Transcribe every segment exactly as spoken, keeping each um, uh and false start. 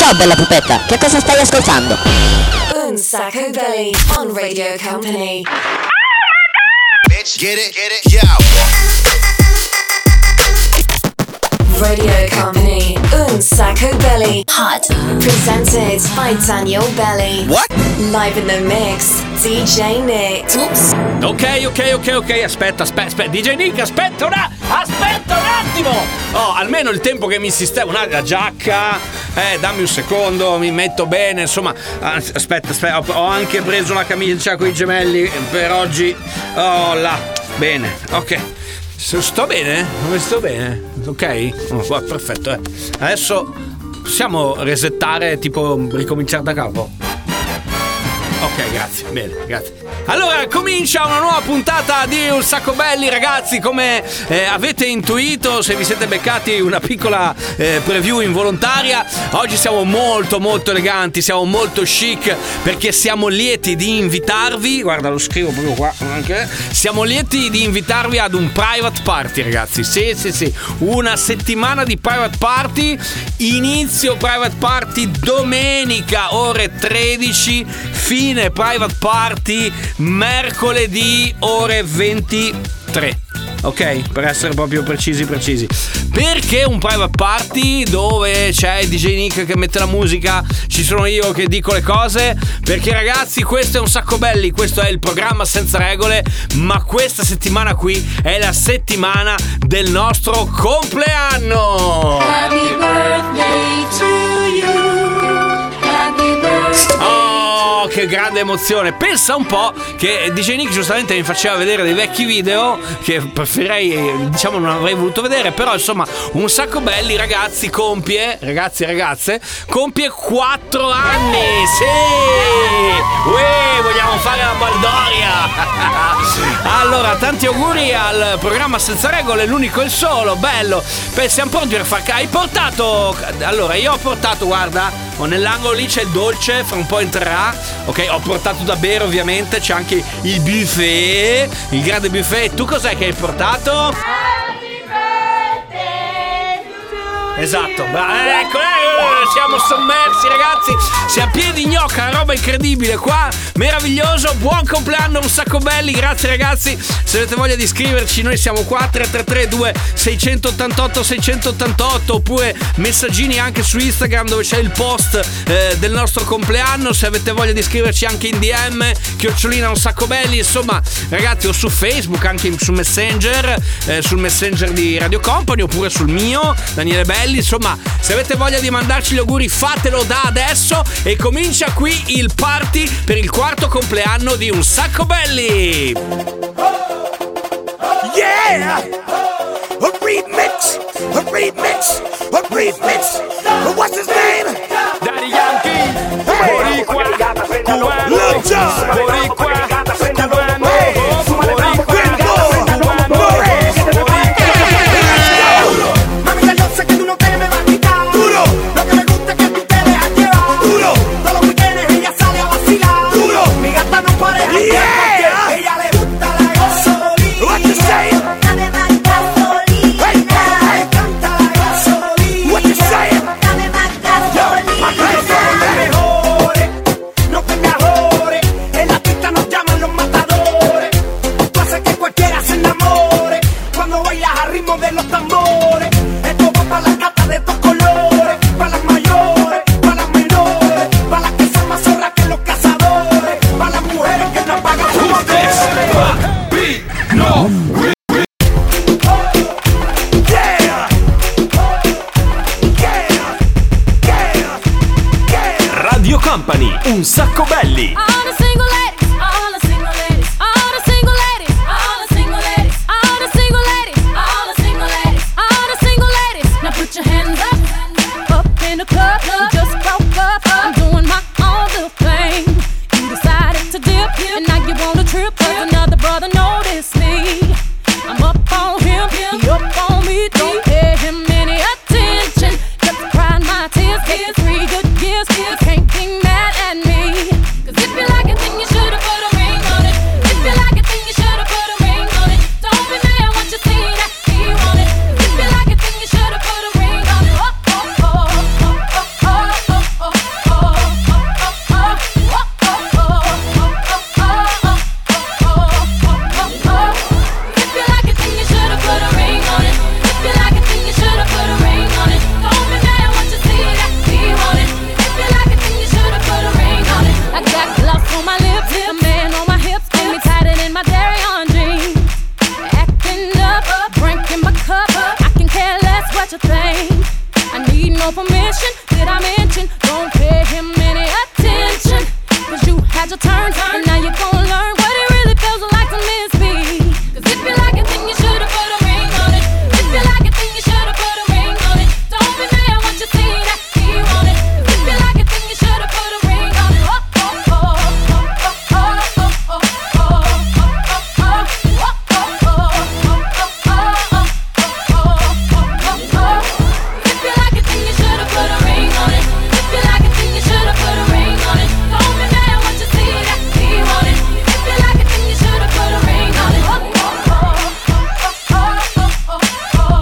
Ciao bella pupetta, che cosa stai ascoltando? Un Sacco Belly on Radio Company. Bitch, get it, get it, yo. Radio Company, Un Sacco Belly. Hot. Presented by Daniel Belly. What? Live in the mix, D J Nick. Oops. Ok, ok, ok, ok, aspetta, aspetta, aspetta, D J Nick, aspetta una, aspetta un attimo. Oh, almeno il tempo che mi sistema, una la giacca, eh, dammi un secondo, mi metto bene, insomma, aspetta, aspetta, ho anche preso una camicia con i gemelli per oggi. Oh, là, bene, ok. Sto bene? Come sto bene? Ok? Oh, perfetto, eh. Adesso possiamo resettare, tipo ricominciare da capo? Ok, grazie, bene, grazie. Allora, comincia una nuova puntata di Un Sacco Belli, ragazzi. Come eh, avete intuito, se vi siete beccati una piccola eh, preview involontaria, oggi siamo molto molto eleganti, siamo molto chic, perché siamo lieti di invitarvi, guarda, lo scrivo proprio qua anche, siamo lieti di invitarvi ad un private party, ragazzi. Sì, sì, sì, una settimana di private party. Inizio private party domenica ore tredici, fine private party mercoledì ore ventitré. Ok, per essere proprio precisi precisi. Perché un private party dove c'è il D J Nick che mette la musica, ci sono io che dico le cose? Perché ragazzi, questo è Un Sacco Belli, questo è il programma senza regole, ma questa settimana qui è la settimana del nostro compleanno. Happy birthday to you. Happy birthday. Oh, che grande emozione. Pensa un po' che D J Nick giustamente mi faceva vedere dei vecchi video che preferirei, diciamo, non avrei voluto vedere, però insomma Un Sacco Belli, ragazzi, compie, ragazzi e ragazze, compie quattro anni. Sì, uè, vogliamo fare la baldoria. Allora, tanti auguri al programma senza regole, l'unico e il solo, bello. Beh, siamo pronti per far... Hai portato... Allora, io ho portato, guarda, nell'angolo lì c'è il dolce, fra un po' entrerà. Ok, ho portato da bere, ovviamente. C'è anche il buffet, il grande buffet. Tu cos'è che hai portato? Happy birthday to Esatto, you. bra- ecco, eh, siamo sommersi, ragazzi. Si a piedi gnocca, una roba incredibile qua, meraviglioso. Buon compleanno Un Sacco Belli, grazie ragazzi. Se avete voglia di scriverci, noi siamo qua, tre tre tre due sei otto otto sei otto otto, oppure messaggini anche su Instagram dove c'è il post eh, del nostro compleanno. Se avete voglia di scriverci anche in D M, chiocciolina Un Sacco Belli, insomma ragazzi, o su Facebook, anche su Messenger, eh, sul Messenger di Radio Company, oppure sul mio, Daniele Belli. Insomma, se avete voglia di mandarci gli auguri, fatelo da adesso. E comincia qui il party per il quarto compleanno di Un Sacco Belli. Yeah! A remix! A remix! A remix! What's his name? Daddy Yankee, boricua, cubano, Lil Jon. boricua, cubano, Mami, ya yo sé que tú no te me vas a quitar. Duro. Lo que me gusta es que tú te dejas llevar. Duro. Todos los weekends ella sale a vacilar. Duro. Mi gata no para de Yeah. janguear porque ella le gusta la gasolina. What you saying? Dame más gasolina. Hey, hey, hey. Me encanta la gasolina. What you saying? Dame más gasolina. Nosotros somos los mejores. No te me ahorres. En la pista nos llaman los matadores. Tú haces que cualquiera se enamore cuando bailas al ritmo de los tambores. Esto va para las gatas de estos colores, para las mayores, para las menores, para las que son más zorras que los cazadores, para las mujeres que no pagan sus amores. Yeah! Yeah! Yeah! Yeah! Radio Company, Un Sacco Belli. All the single ladies, all the single ladies, all the single ladies, all the single ladies, all the single ladies, all the single ladies, all the single ladies. Now put your hands up, up in the club. You just broke up. I'm doing my own little thing. You decided to dip, and now you want a trip. 'Cause another brother noticed me. I'm up on him, he up on me. Don't pay him any attention. Just crying my tears, get three good years. You can't be mad at me. 'Cause if you like such a thing. I need no permission, did I mention? Don't pay him any attention. Cause you had your turn, and now you're gonna learn what it really feels like to miss me. Cause if you like it, then you should've put a ring on it. If you like it, then you should've put a ring on it. Don't be mad what you see that he want it. Cause if you like it, then you should've put a ring on it. Oh, oh, oh, oh, oh, oh, oh, oh, oh, oh, oh, oh, oh. If you like it, then you should've put a ring on it. If you like it, then you should've put a ring on it. Don't be mad what you see that he want it. If you like it, then you should've put a ring on it. Oh, oh, oh, oh, oh, oh, oh, oh,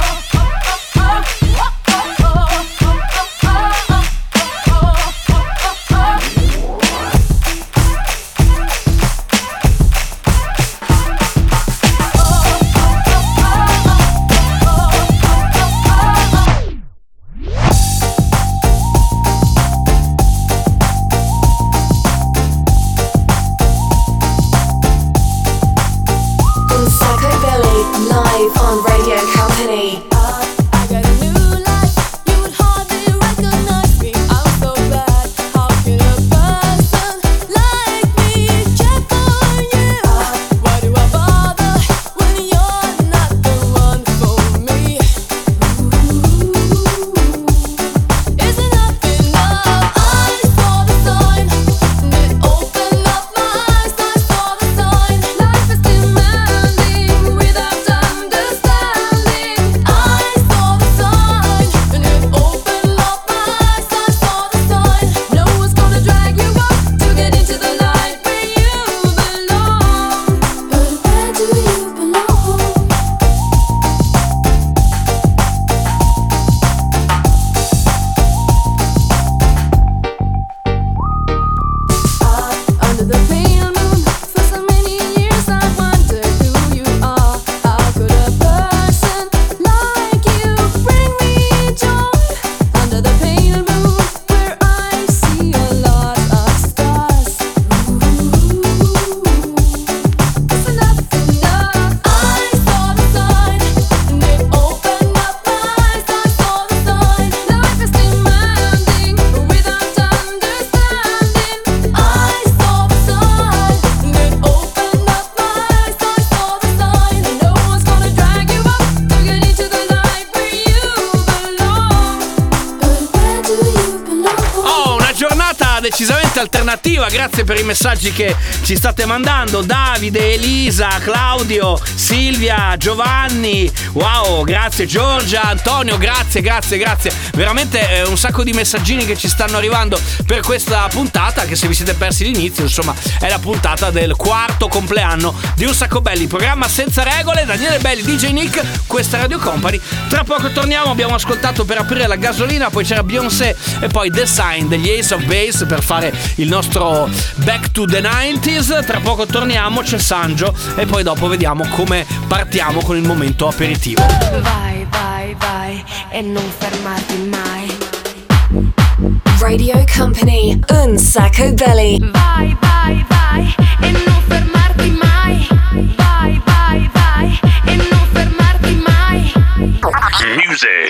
Sacco Belly, live on Radio Company. I got a new life, you would hardly recognize me. I'm so glad, how can a person like me check on you? Why do I bother when you're not the one for me? Is enough enough? I saw the sign, and it opened up my eyes. I saw the sign. Life is demanding without understanding. I saw the sign, and it opened up my eyes. I saw the sign. No one's gonna drag you up to get into the light where you belong. But where do you belong? Under the pale moon, for so many years I wondered who you are. How could a person like you bring me joy? Under the pale moon, where I see a lot of stars. It's enough enough. I saw the sign, and it opened up my eyes. I saw the sign. Life is demanding without understanding. I saw the sign, and it opened up my eyes. I saw the sign. No one's gonna drag you up to get into the light where you belong. But where do you belong? Oh, una giornata decisamente alternativa, grazie per i messaggi che ci state mandando. Davide, Elisa, Claudio, Silvia, Giovanni, wow, grazie Giorgia, Antonio, grazie, grazie, grazie. Veramente eh, un sacco di messaggini che ci stanno arrivando per questa puntata, che se vi siete persi l'inizio, insomma, è la puntata del quarto compleanno di Un Sacco Belli, programma senza regole. Daniele Belli, D J Nick, questa è Radio Company. Tra poco torniamo, abbiamo ascoltato per aprire la gasolina, poi c'era Beyoncé e poi The Sign degli Ace of Base per fare il nostro Back to the nineties. Tra poco torniamo, c'è Sangio e poi dopo vediamo come partiamo con il momento aperitivo. Vai, vai, vai e non fermarti mai. Radio Company, Un Sacco Belly. Vai, vai, vai e non fermarti mai. Vai, vai, vai e non fermarti mai. Music.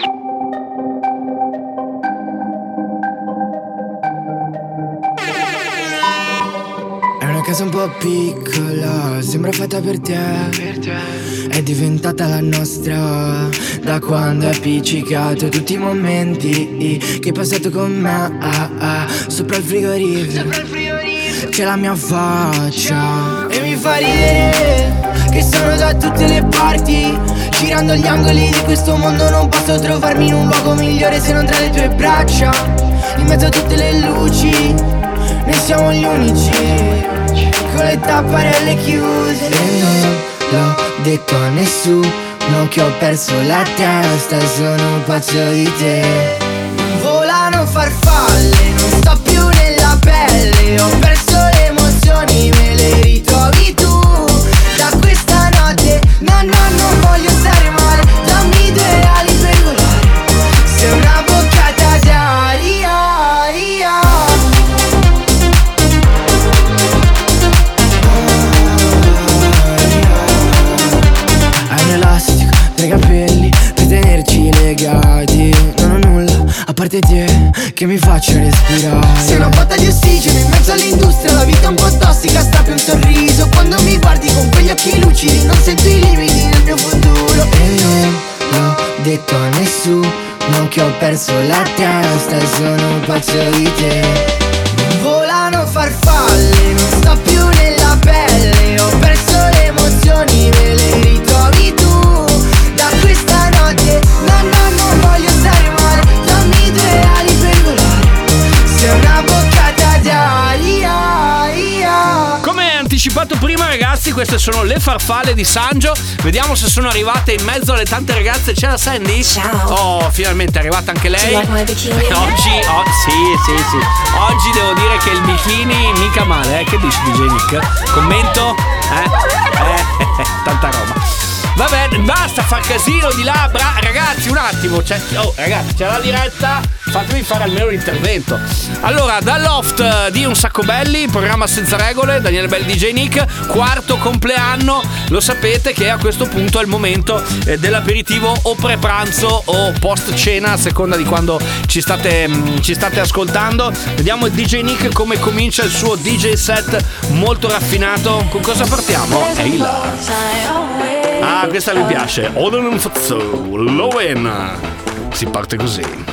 È una casa un po' piccola, sembra fatta per te. È diventata la nostra da quando è appiccicato. Tutti i momenti che hai passato con me ah, ah, sopra il frigorifero. C'è la mia faccia e mi fa ridere che sono da tutte le parti. Girando gli angoli di questo mondo non posso trovarmi in un luogo migliore se non tra le tue braccia. In mezzo a tutte le luci noi siamo gli unici con le tapparelle chiuse. E non l'ho detto a nessuno che ho perso la testa, sono pazzo di te. Volano farfalle, non sto più nella pelle. Ho perso le emozioni, me le ritrovi tu. Da questa notte, no no non voglio stare male. Dammi due ali per volare, sei una boccata d'aria. Hai un elastico tra i capelli per tenerci legati. parte te che mi faccia respirare. Sei una botta di ossigeno in mezzo all'industria. La vita è un po' tossica, strappi un sorriso. Quando mi guardi con quegli occhi lucidi non sento i limiti nel mio futuro. E non l'ho detto a nessuno che ho perso la testa e sono pazzo di te. Volano farfalle, non sto più nella pelle. Ho perso le emozioni, me le ritrovi tu. Da questa notte, no no non voglio stare male. Dammi due ali per volare, sei una boccata d'aria. Come anticipato prima, ragazzi, queste sono le farfalle di Sangio. Vediamo se sono arrivate in mezzo alle tante ragazze. C'è la Sandy? Ciao. Oh, finalmente è arrivata anche lei. Do you like my bikini? Oggi, oh, sì, sì, sì. Oggi devo dire che il bikini mica male, eh? Che dici, D J Nick? Commento? Eh? Eh, tanta roba. Va bene, basta far casino di là, bra- ragazzi, un attimo. C'è, oh, ragazzi, c'è la diretta. Fatemi fare almeno l'intervento. Allora, dal loft di Un Sacco Belli, programma senza regole, Daniele Belli, D J Nick, quarto compleanno. Lo sapete che a questo punto è il momento eh, dell'aperitivo o pre-pranzo o post-cena, a seconda di quando ci state, mh, ci state ascoltando. Vediamo il D J Nick come comincia il suo D J set molto raffinato. Con cosa partiamo? Ehi là. Ah, questa mi piace. Oden Fazzo, Lowen. Si parte così.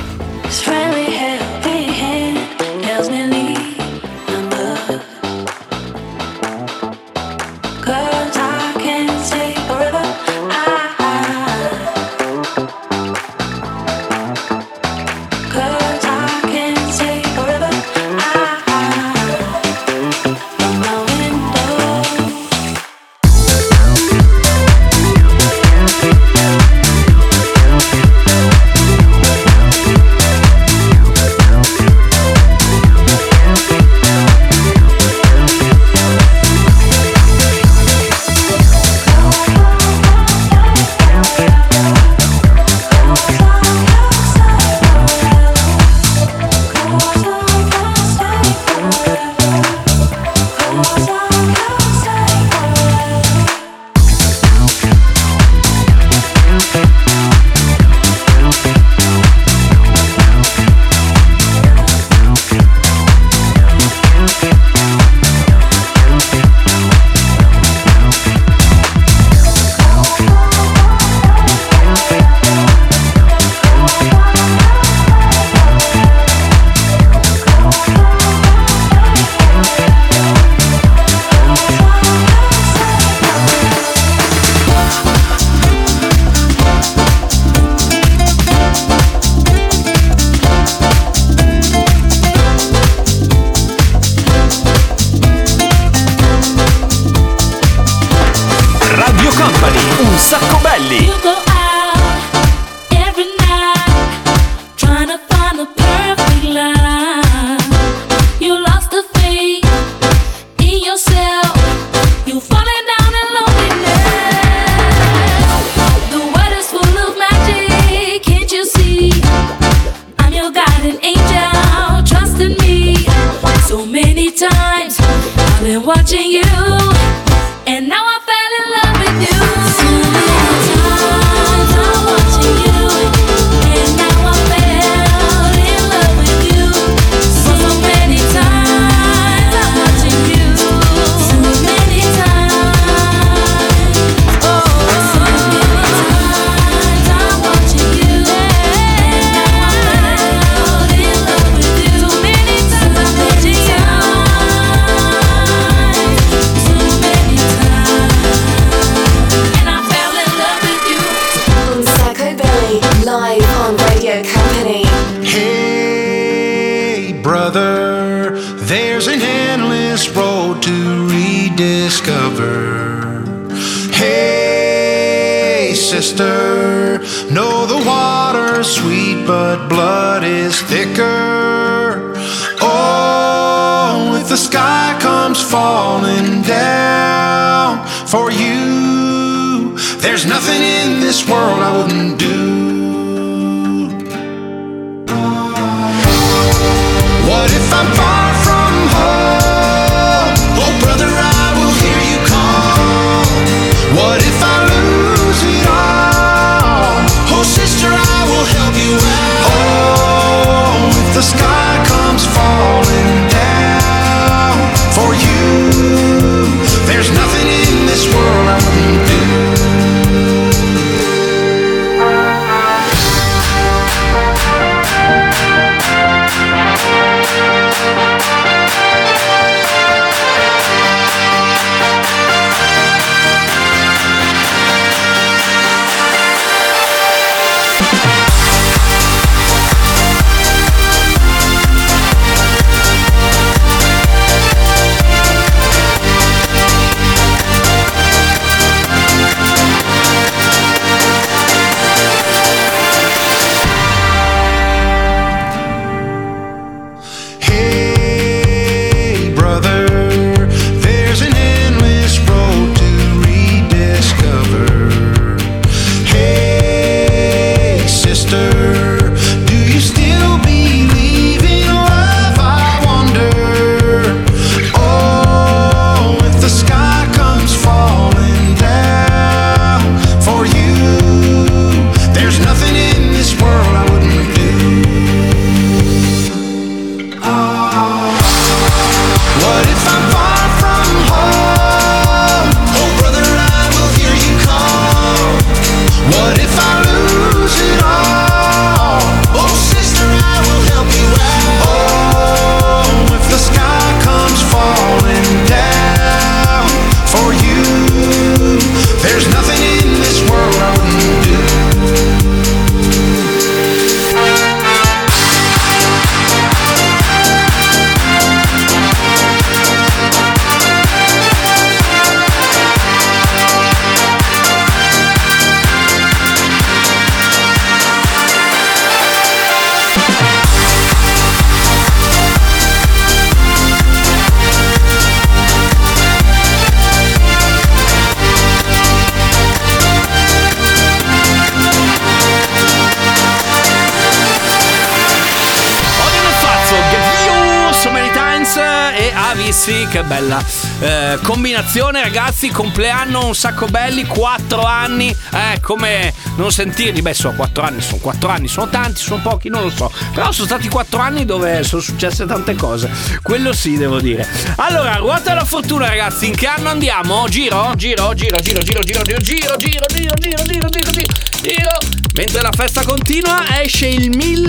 Un Sacco Belli. Watching you, and now I fell in love with you. So many times I'm watching you, and now I fell in love with you. So many times I'm watching you, so many times. Oh, so many times I'm watching you, and now I fell in love with you. So many times I'm watching you. Live on Radio Company. Hey brother, there's an endless road to rediscover. Hey sister, know the water's sweet but blood is thicker. Oh, if the sky comes falling down for you, there's nothing in this world I wouldn't do. What if I'm far from home? Oh brother, I will hear you call. What if I lose it all? Oh sister, I will help you out. Oh, ragazzi, che bella eh, combinazione, ragazzi. Compleanno un sacco belli, quattro anni, eh, come non sentirli? Beh, sono quattro anni, sono quattro anni, sono tanti, sono pochi, non lo so. Però sono stati quattro anni dove sono successe tante cose, quello sì, devo dire. Allora, ruota della fortuna, ragazzi, in che anno andiamo? Giro, giro, giro, giro, giro, giro, giro, giro, giro, giro, giro, giro, giro, giro, giro. Mentre la festa continua, esce il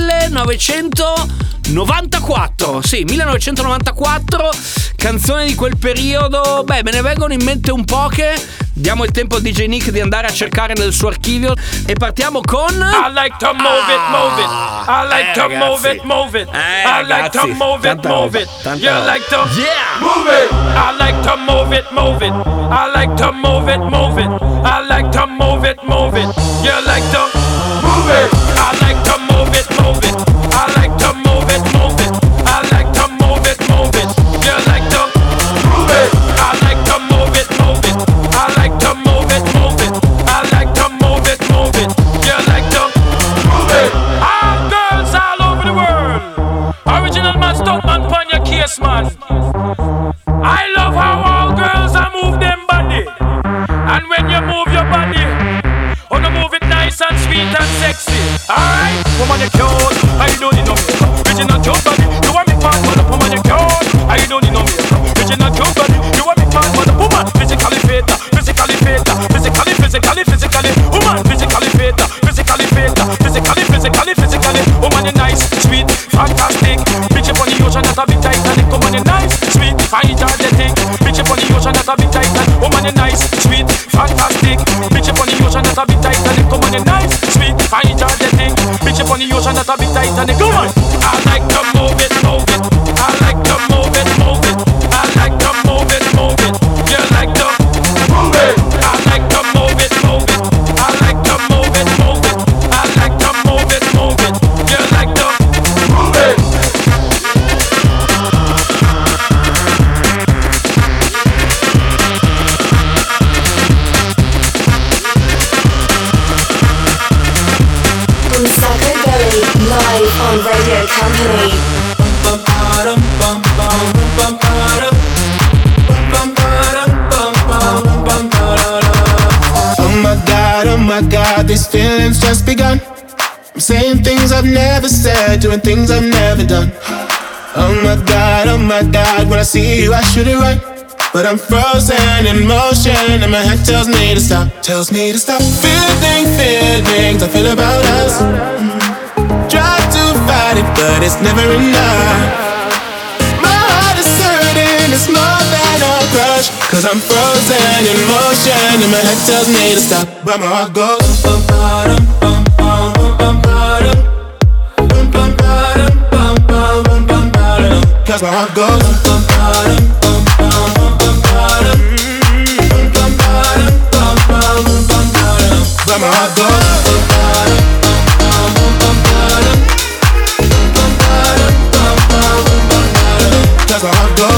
millenovecentonovantaquattro. Sì, millenovecentonovantaquattro, canzone di quel periodo. Beh, me ne vengono in mente un poche. Diamo il tempo a D J Nick di andare a cercare nel suo archivio e partiamo con I like to move it, move it. I like eh, to ragazzi. move it, move it. Eh, I like to ragazzi. move it, Tanta move roba, it. tanta You roba. like to Yeah. move it. I like to move it, move it. I like to move it, move it. I like to move it, move it. You like to move it. I like to move it, move it. I like to move it, move it. I like to move it, move it. You like to move it. I like to move it, move it. I like to move it, move it. I like to move it, move it. You like to move it. All girls all over the world. Original man, stunt man, pon your case, man. I love how all girls are move them body. And when you move your body, oh, no, move it nice and sweet and sexy. Alright, woman, you cute. I don't need no makeup. Original cute body. You want me part for the woman, you cute. I don't need no makeup. Original cute body. You want me part for the woman. Physically fit, physically fit, physically, physically, physically. Woman, physically fit, physically fit, physically, physically, physically. Woman, you nice, sweet, fantastic. Bitch up on the ocean, that's a big Titanic. Woman, you nice, sweet, fine, energetic. Bitch up on the ocean, that's a big Titanic. Woman, you nice, sweet, fantastic. Bitch up on the ocean, that's a big Titanic. Woman, you nice, sweet, fine, energetic. Bitch up on the ocean, that's a big Titanic. Come on, I like to move it, move it. I like to move it, move it. I like to move it, move it. You like to move it. I like to move it, move it. I like to move it, move it. I like to move it, move it. You like to move it. Unsacco Belly, live on Radio Company. Oh my God, oh my God, these feelings just begun. I'm saying things I've never said, doing things I've never done. Oh my God, oh my God, when I see you I should it right, but I'm frozen in motion and my head tells me to stop, tells me to stop. Feeling, feelings I feel about us. Try to fight it, but it's never enough. My heart is hurting, it's more than a crush, cause I'm frozen in motion and my head tells me to stop, but my heart goes bum bum bum bum bum bum bum bum bum bum bum bum, cause my heart goes bum bum bum bum bum bum bum bum bum, but my heart goes bum bum bum bum bum bum, cause my heart goes.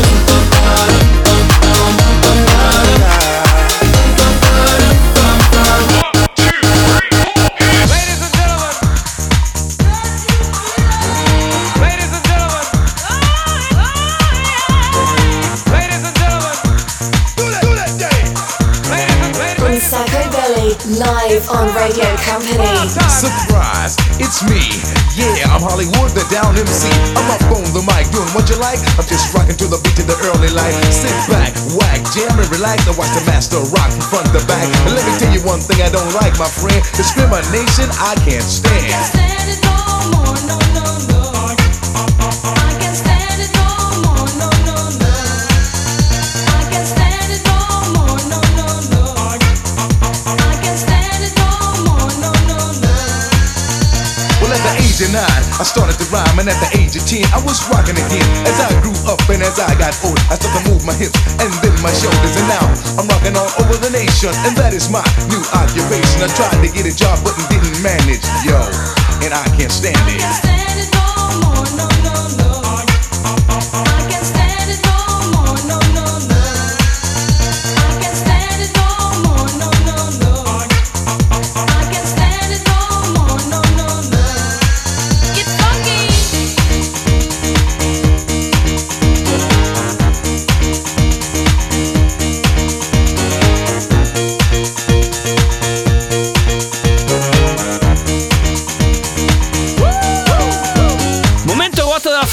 Live on Radio Company. Surprise, it's me. Yeah, I'm Hollywood, the down M C. I'm up on the mic, doing what you like. I'm just rocking to the beat of the early light. Sit back, whack, jam and relax. I watch the master rock from front to back. And let me tell you one thing I don't like, my friend. Discrimination I can't stand. Can't stand it no more, no, no, no. I can't stand it no more, no, no, no. I can't stand it no more, no, no, no. I can't stand it no more, no, no, no. Well, at the age of nine, I started to rhyme, and at the age of ten, I was rocking again. As I grew up and as I got old, I started to move my hips and then my shoulders, and now I'm rocking all over the nation, and that is my new occupation. I tried to get a job, but didn't manage, yo, and I can't stand it. I can't stand it no more, no, no, no. I can't stand it no more, no, no, no. I can't stand it no more, no, no, no. I can't stand it no more, no, no, no. Get funky.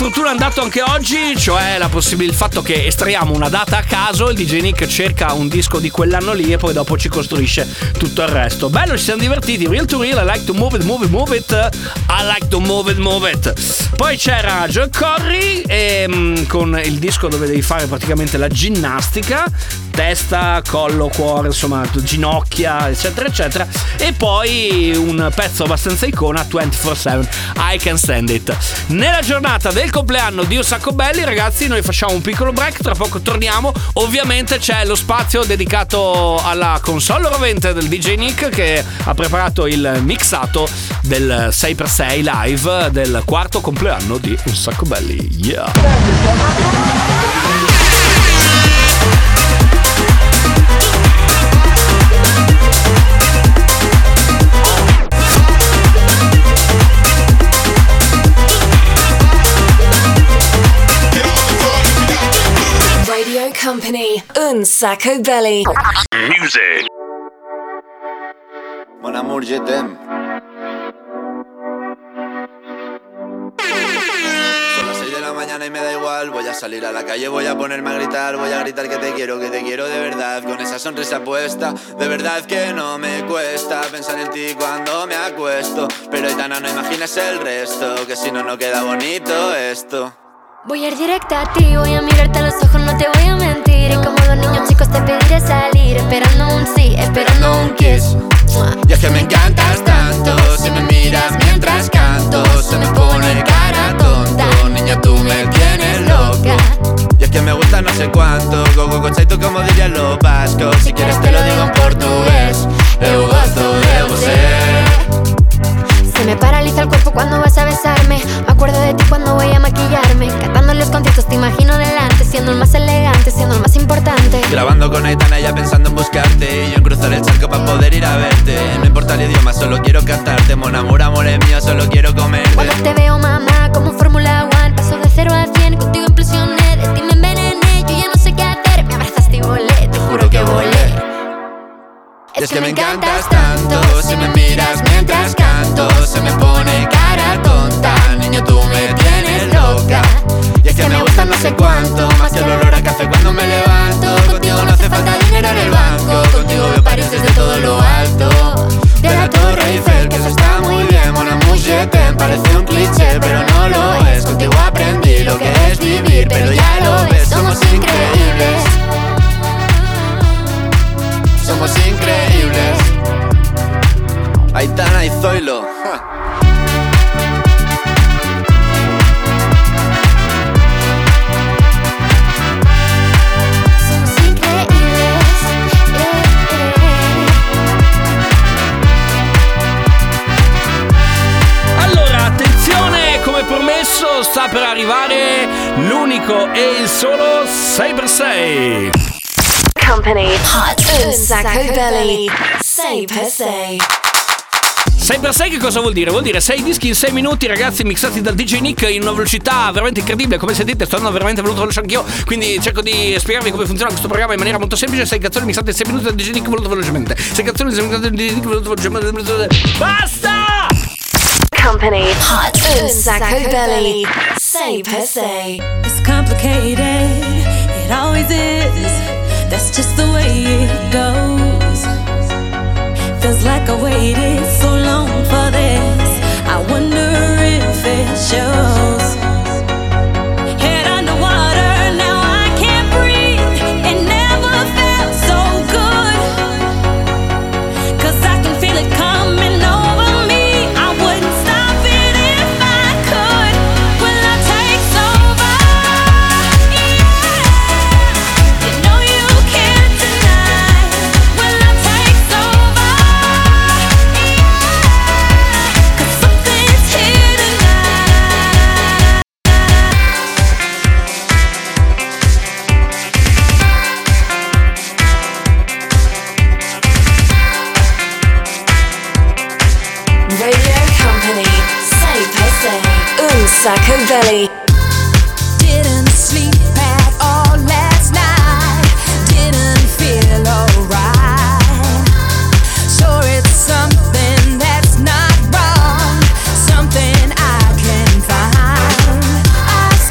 fortuna è andato anche oggi, cioè la possibilità, il fatto che estraiamo una data a caso, il D J Nick cerca un disco di quell'anno lì e poi dopo ci costruisce tutto il resto. Bello, ci siamo divertiti. Real to real, I like to move it, move it, move it. I like to move it, move it. Poi c'era Joel Corry e, mh, con il disco dove devi fare praticamente la ginnastica, testa, collo, cuore, insomma ginocchia, eccetera eccetera. E poi un pezzo abbastanza icona, ventiquattro sette, I Can Stand It. Nella giornata del compleanno di Un Sacco Belli, ragazzi, noi facciamo un piccolo break, tra poco torniamo. Ovviamente c'è lo spazio dedicato alla console rovente del D J Nick, che ha preparato il mixato del sei per sei live del quarto compleanno di Un Sacco Belli. Yeah. Radio Company, Un Sacco Belly. Music. Mon amour, je t'aime. Son las seis de la mañana y me da igual. Voy a salir a la calle, voy a ponerme a gritar. Voy a gritar que te quiero, que te quiero de verdad. Con esa sonrisa puesta, de verdad que no me cuesta pensar en ti cuando me acuesto. Pero Aitana, no imaginas el resto, que si no, no queda bonito esto. Voy a ir directa a ti, voy a mirarte a los ojos, no te voy a mentir. Y como dos niños chicos te pediré salir, esperando un sí, esperando un kiss. Y es que me encantas tanto, si me miras mientras canto, se me pone cara tonta. Niña, tú me tienes loca. Y es que me gusta no sé cuánto, go go go tú como dirían los vascos. Si quieres te lo digo en portugués, eu gosto de você. Se me paraliza el cuerpo cuando vas a besarme. Me acuerdo de ti cuando voy a maquillarme. Cantando en los conciertos te imagino delante, siendo el más elegante, siendo el más importante. Grabando con Aitana ya pensando en buscarte, y yo en cruzar el charco para poder ir a verte. No importa el idioma, solo quiero cantarte. Mon amor, amor es mío, solo quiero comerte. Cuando te veo, mamá, como Fórmula One, paso de cero a cien, contigo impresioné. De ti me envenené, yo ya no sé qué hacer. Me abrazaste y volé, te juro que volé. Y es que me encantas tanto, si me miras mientras canto, se me pone cara tonta. Niño, tú me tienes loca. Y es que me gusta no sé cuánto, más que el olor a café cuando me levanto. Contigo no hace falta dinero en el banco, contigo veo París desde todo lo alto. De la Torre Eiffel, que eso está muy bien. Mon amour, je t'aime, parece un cliché, pero no lo es. Contigo aprendí lo que es vivir, pero ya lo ves, somos increíbles. Somos increíbles. Aitana y Zoilo. Ja. Somos increíbles. Yeah, yeah. Allora, attenzione, come promesso sta per arrivare l'unico e il solo sei per sei. Company, Hot Un Sacco Belly, sei per sei. sei per sei che cosa vuol dire? Vuol dire sei dischi in sei minuti, ragazzi, mixati dal D J Nick in una velocità veramente incredibile. Come sentite, sto andando veramente veloce veloce anch'io, quindi cerco di spiegarvi come funziona questo programma in maniera molto semplice. sei canzoni mixate in sei minuti dal D J Nick molto velocemente. sei canzoni mixate dal D J Nick molto velocemente. Basta! Company, Hot Un Sacco Belly, sei per sei. It's complicated, it always is. That's just the way it goes. Feels like I waited so long for this. I wonder if it shows. Head underwater, now I can't breathe. It never felt so good. 'Cause I can feel it coming over me. I wouldn't stop it if I could. Will I take over? Yeah. You know you can't deny. Will I take over? Yeah. 'Cause something's here tonight. Radio Company, sei per sei. Un Sacco Belly. Didn't sleep at all last night. Didn't feel alright. Sure, it's something that's not wrong. Something I can find. I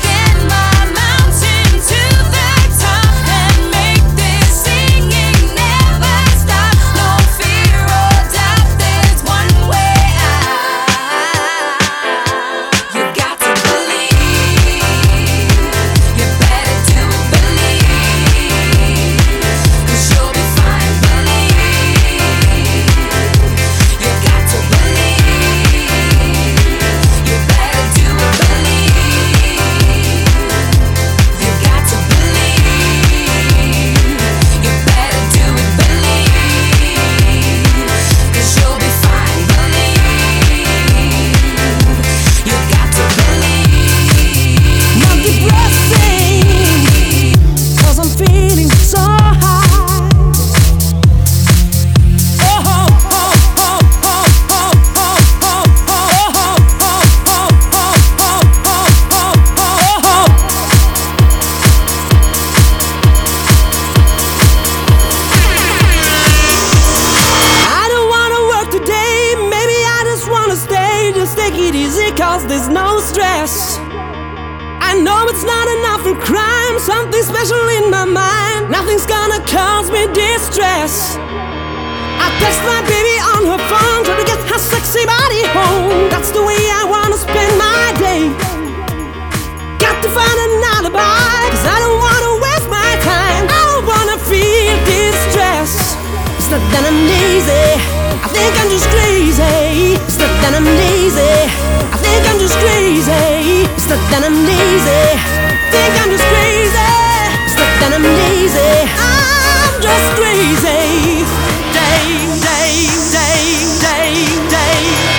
because there's no stress. I know it's not enough for crime, something special in my mind. Nothing's gonna cause me distress. I text my baby on her phone, try to get her sexy body home. That's the way I wanna spend my day. Got to find an alibi, cause I don't wanna waste my time. I don't wanna feel distress. It's not that I'm lazy, I think I'm just crazy. It's not that I'm lazy, I think I'm just crazy. It's not that I'm lazy, I think I'm just crazy. It's not that I'm lazy, I'm just crazy. Day, day, day, day, day.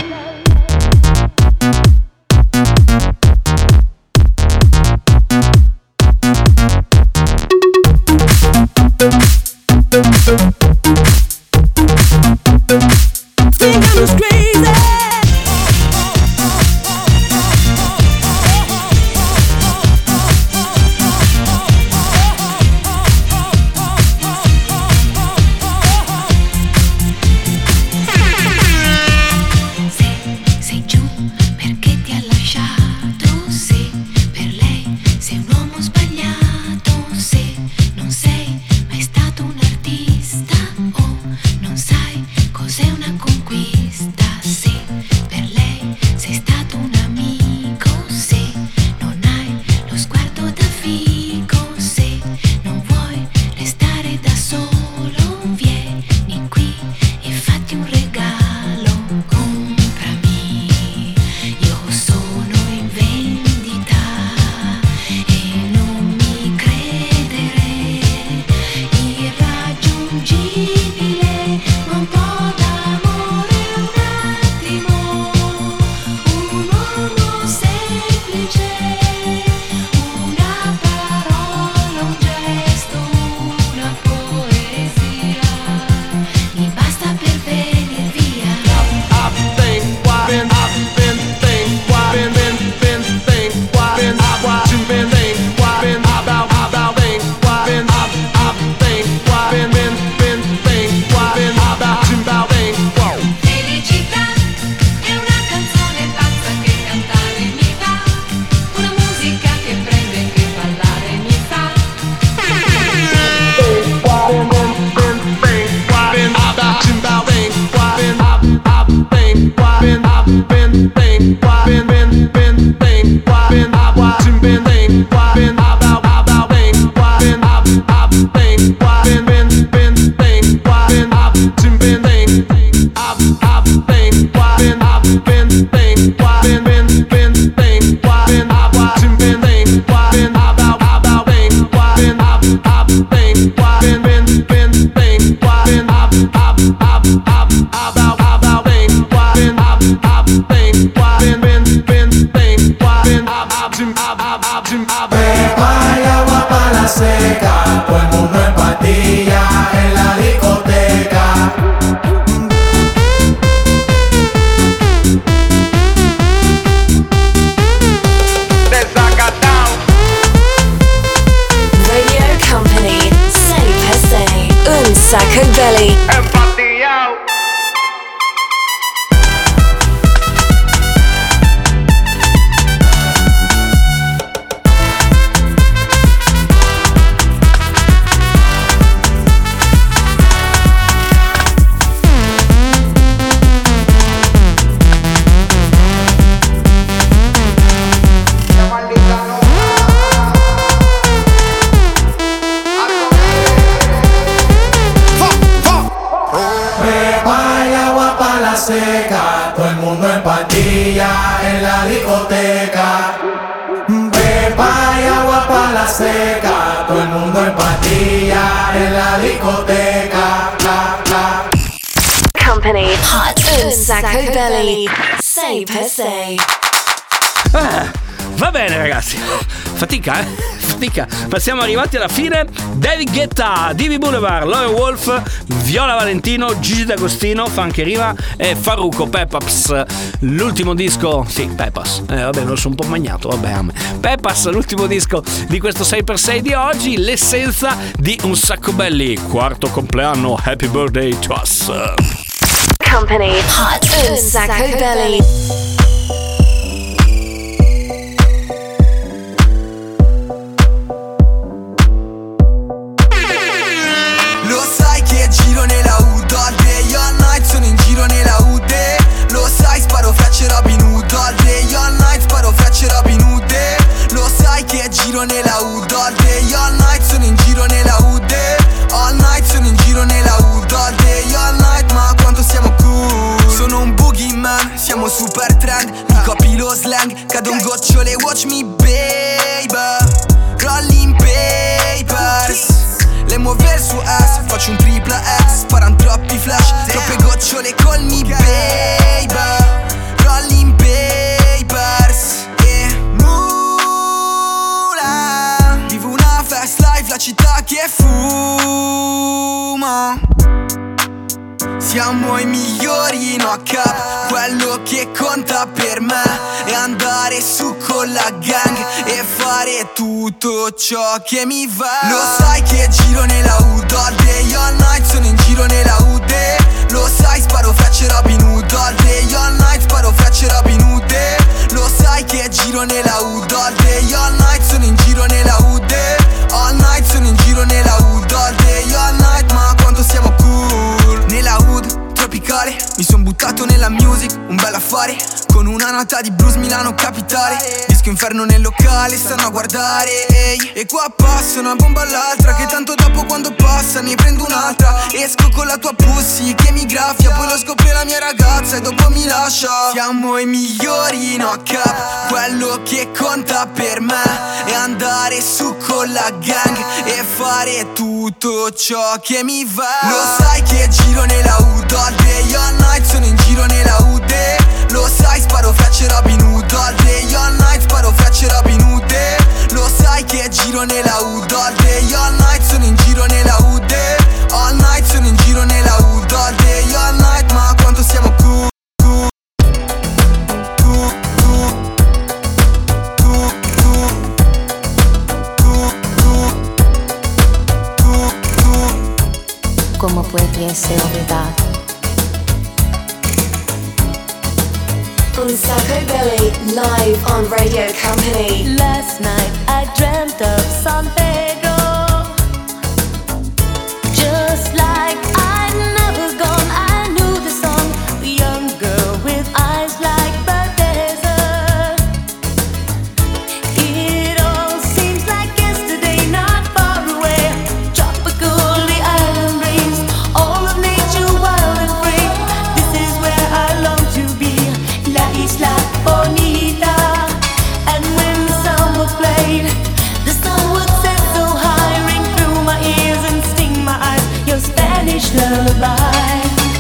Think I'm just crazy. Sacco Belly. Seca, todo el mundo en patilla en la discoteca. Pepa y agua para la seca, todo el mundo en patilla en la discoteca. La, la. Company Hot un Sacco Belly. Sei per sei. Ah, va bene ragazzi, fatica eh, fatica, ma siamo arrivati alla fine. David Guetta, Divi Boulevard, Loyal Wolf, Viola Valentino, Gigi D'Agostino, Funky Riva e Farruko Pepas. L'ultimo disco, sì, Pepas, eh, vabbè, lo sono un po' magnato, vabbè, Pepas, l'ultimo disco di questo sei per sei di oggi, l'essenza di Un Sacco Belli, quarto compleanno, happy birthday to us. Company Hot un Sacco Belly. siamo super trend. Mi copi lo slang, cado un gocciole, watch me baby. Rolling papers, le muove il suo ass, faccio un tripla X, sparan troppi flash, troppe gocciole col me baby. Rolling papers, yeah. Mula, vivo una fast life, la città che fuma. Siamo i migliori in O H, quello che conta per me è andare su con la gang e fare tutto ciò che mi va. Lo sai che giro nella hood all day, all night, sono in giro nella hood. Lo sai, sparo frecce Robin Hood all day, all night, sparo frecce Robin Hood. Lo sai che giro nella hood all day, all night, sono in giro nella hood. All night, sono in giro nella hood all day, all night, ma quando siamo cool. Nella hood tropicale, mi son buttato nella music, un bel affare. Con una nota di blues Milano capitale, disco inferno nel locale, stanno a guardare, ehi. E qua passa una bomba all'altra, che tanto dopo quando passa ne prendo un'altra. Esco con la tua pussy che mi graffia, poi lo scopre la mia ragazza e dopo mi lascia. Siamo i migliori in O H, quello che conta per me è andare su con la gang e fare tutto ciò che mi va. Lo sai che giro nella hood all day, all night, sono in giro nella hood. Lo sai, sparo frecce Robin Hood all day, all night, sparo frecce Robin Hood. Lo sai che giro nella hood all day, all night, sono in giro nella hood. All night, sono in giro nella hood all day, all night, ma quando siamo cool. ¿Cómo puede ser verdad? On Sacco Belly, live on Radio Company. Last night I dreamt of San Pedro, just like I'd never gone. I knew the song, the young girl with eyes like the desert. It all seems like yesterday, not far away. Tropical, the island breeze, all of nature wild and free. This is where I long to be, La Isla Bonita. And when the song was played, the sun would set so high, ring through my ears and sting my eyes, your Spanish lullaby.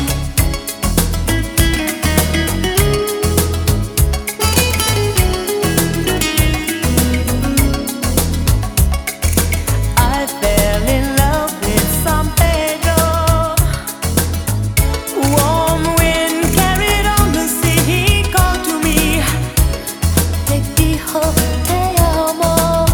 I fell in love with San Pedro. Warm wind carried on the sea, he called to me, te dijo te amo.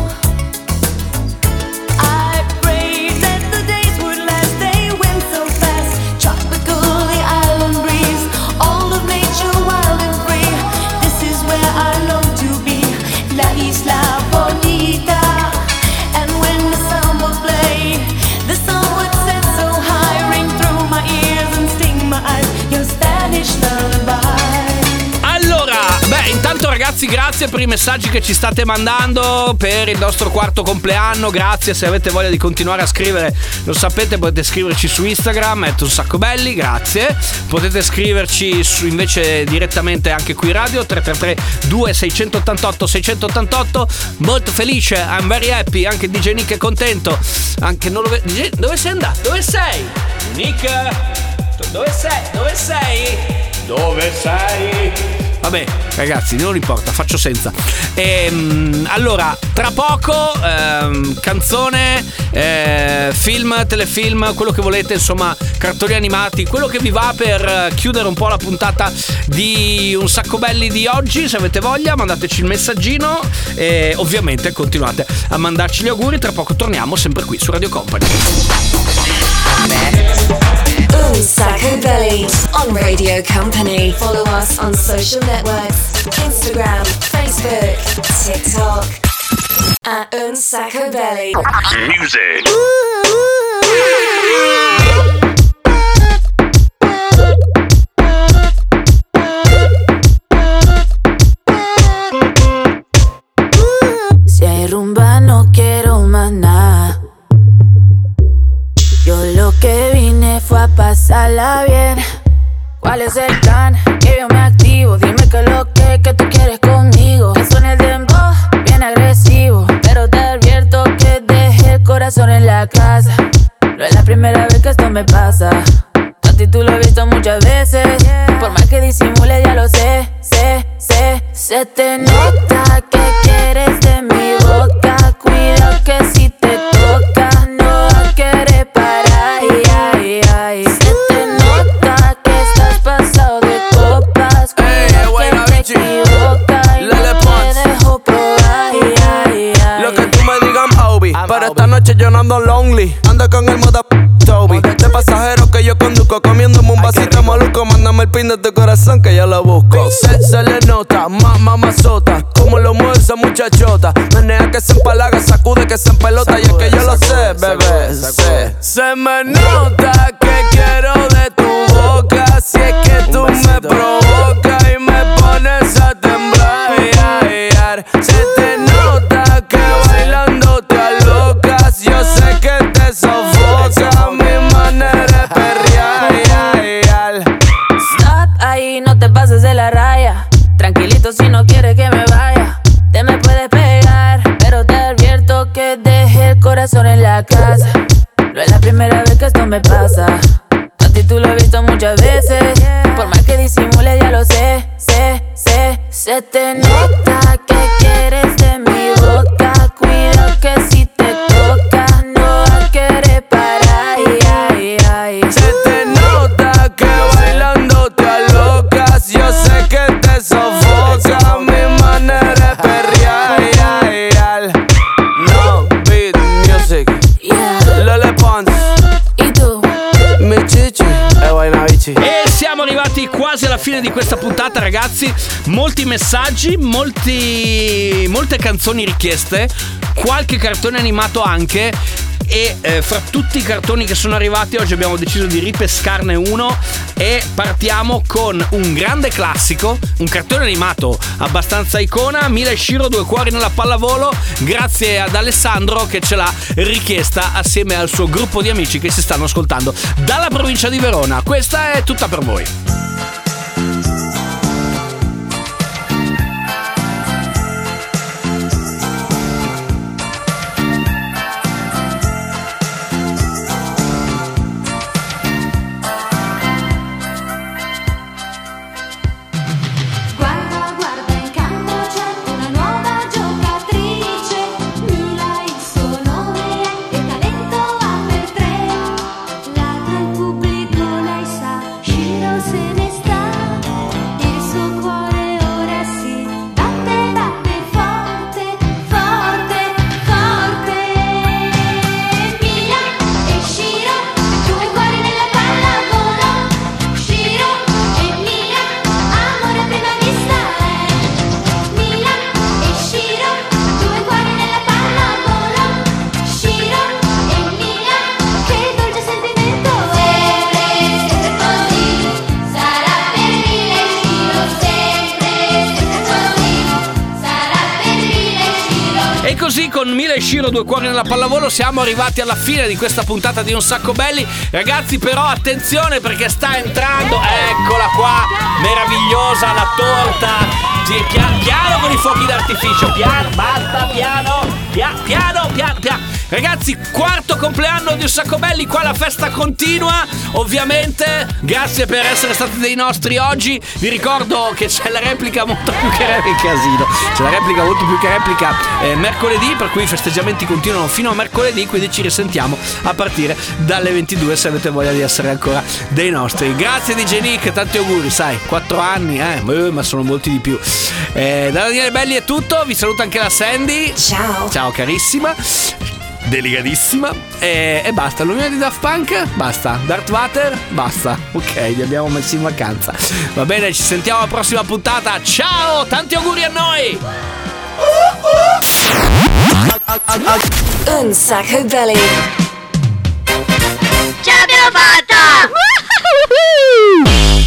I prayed that the days would last, they went so fast. Tropical, the island breeze, all of nature wild and free. This is where I long to be, La Isla Bonita. And when the sun was played, the sun would set so high, ring through my ears and sting my eyes, your Spanish lullaby. Allora, beh, intanto ragazzi, grazie per i messaggi che ci state mandando per il nostro quarto compleanno. Grazie, se avete voglia di continuare a scrivere, lo sapete, potete scriverci su Instagram, at un sacco belli, grazie. Potete scriverci su, invece direttamente anche qui in radio, tre tre tre due sei otto otto sei otto otto. Molto felice, I'm very happy, anche D J Nick è contento. Anche non lo ve- D J, dove sei andato? Dove sei? Nick? Dove sei? Dove sei? Dove sei? Vabbè, ragazzi, non importa, faccio senza. Ehm, allora, tra poco ehm, canzone, eh, film, telefilm, quello che volete, insomma, cartoni animati, quello che vi va per chiudere un po' la puntata di Un Sacco Belli di oggi. Se avete voglia, mandateci il messaggino e ovviamente continuate a mandarci gli auguri. Tra poco torniamo sempre qui su Radio Company. Un Sacco Belly on Radio Company. Follow us on social networks, Instagram, Facebook, TikTok at Un Sacco Belly. Music. Si hay rumba no quiero más nada. Yo lo que vine fue a pasarla bien. ¿Cuál es el plan? Que yo me activo, dime Se te nota que quieres de mi boca. Cuidado que si te toca no va a querer parar. Ay, ay, ay. Se te nota que estás pasado de copas. Cuidado que te equivocas y no te dejo probar. Ay, ay, ay. Lo que tú me digas, Obi. Pero esta noche yo no ando lonely. Ando con el moda Toby. De pasajero que yo conduzco, comiéndome un vasito maluco. Mándame el pin de tu corazón que yo lo busco. Se, se le nota, mamá mazota, como lo mueve esa muchachota. Menea que se empalaga, sacude que se empelota. Y es que yo lo sé, bebé, sé. Se me nota que quiero de tu boca. Si es que tú me provocas y me pones a temblar. Se te nota que bailando te alocas. Yo sé que te sofoca mi manera de perrear. Stop ahí, no te pases de la raya. Tranquilito si no quieres que me vaya. Te me puedes pegar, pero te advierto que dejé el corazón en la casa. No es la primera vez que esto me pasa. A ti tú lo has visto muchas veces. Por más que disimule ya lo sé, sé, sé. Se te nota que quieres de mi boca. Cuidado que si te toca no va a querer parar. Ay, ay, ay. Se te nota que bailando te alocas. Yo sé que te sofoca mi manera de perrear. No beat music. Lele Pons. ¿Y tú? Mi Cici e Wainavici. E siamo arrivati quasi alla fine di questa puntata, ragazzi. Molti messaggi, molti, molte canzoni richieste, qualche cartone animato anche. E eh, fra tutti i cartoni che sono arrivati oggi abbiamo deciso di ripescarne uno. E partiamo con un grande classico, un cartone animato abbastanza icona, Mila e Shiro, Due cuori nella pallavolo. Grazie ad Alessandro che ce l'ha richiesta assieme al suo gruppo di amici che si stanno ascoltando dalla provincia di Verona. Questa è tutta per voi. Così con Mila e Shiro, Due cuori nella pallavolo, siamo arrivati alla fine di questa puntata di Un Sacco Belli. Ragazzi, però attenzione perché sta entrando, eccola qua, meravigliosa la torta. Piano, piano con i fuochi d'artificio, piano, basta, piano, piano, piano, piano, piano. Ragazzi, quarto compleanno di Un Sacco Belli, qua la festa continua, ovviamente. Grazie per essere stati dei nostri oggi. Vi ricordo che c'è la replica molto più che replica, casino. C'è la replica molto più che replica eh, mercoledì, per cui i festeggiamenti continuano fino a mercoledì, quindi ci risentiamo a partire dalle ventidue se avete voglia di essere ancora dei nostri. Grazie D J Nick, tanti auguri, sai, quattro anni, eh, ma sono molti di più. Eh, da Daniele Belli è tutto, vi saluta anche la Sandy. Ciao. Ciao carissima. Delicatissima. E, e basta. L'unione di Daft Punk? Basta. Darth Vader? Basta. Ok, li abbiamo messi in vacanza. Va bene, ci sentiamo alla prossima puntata. Ciao, tanti auguri a noi. Un Sacco Belly. Ce l'abbiamo fatta!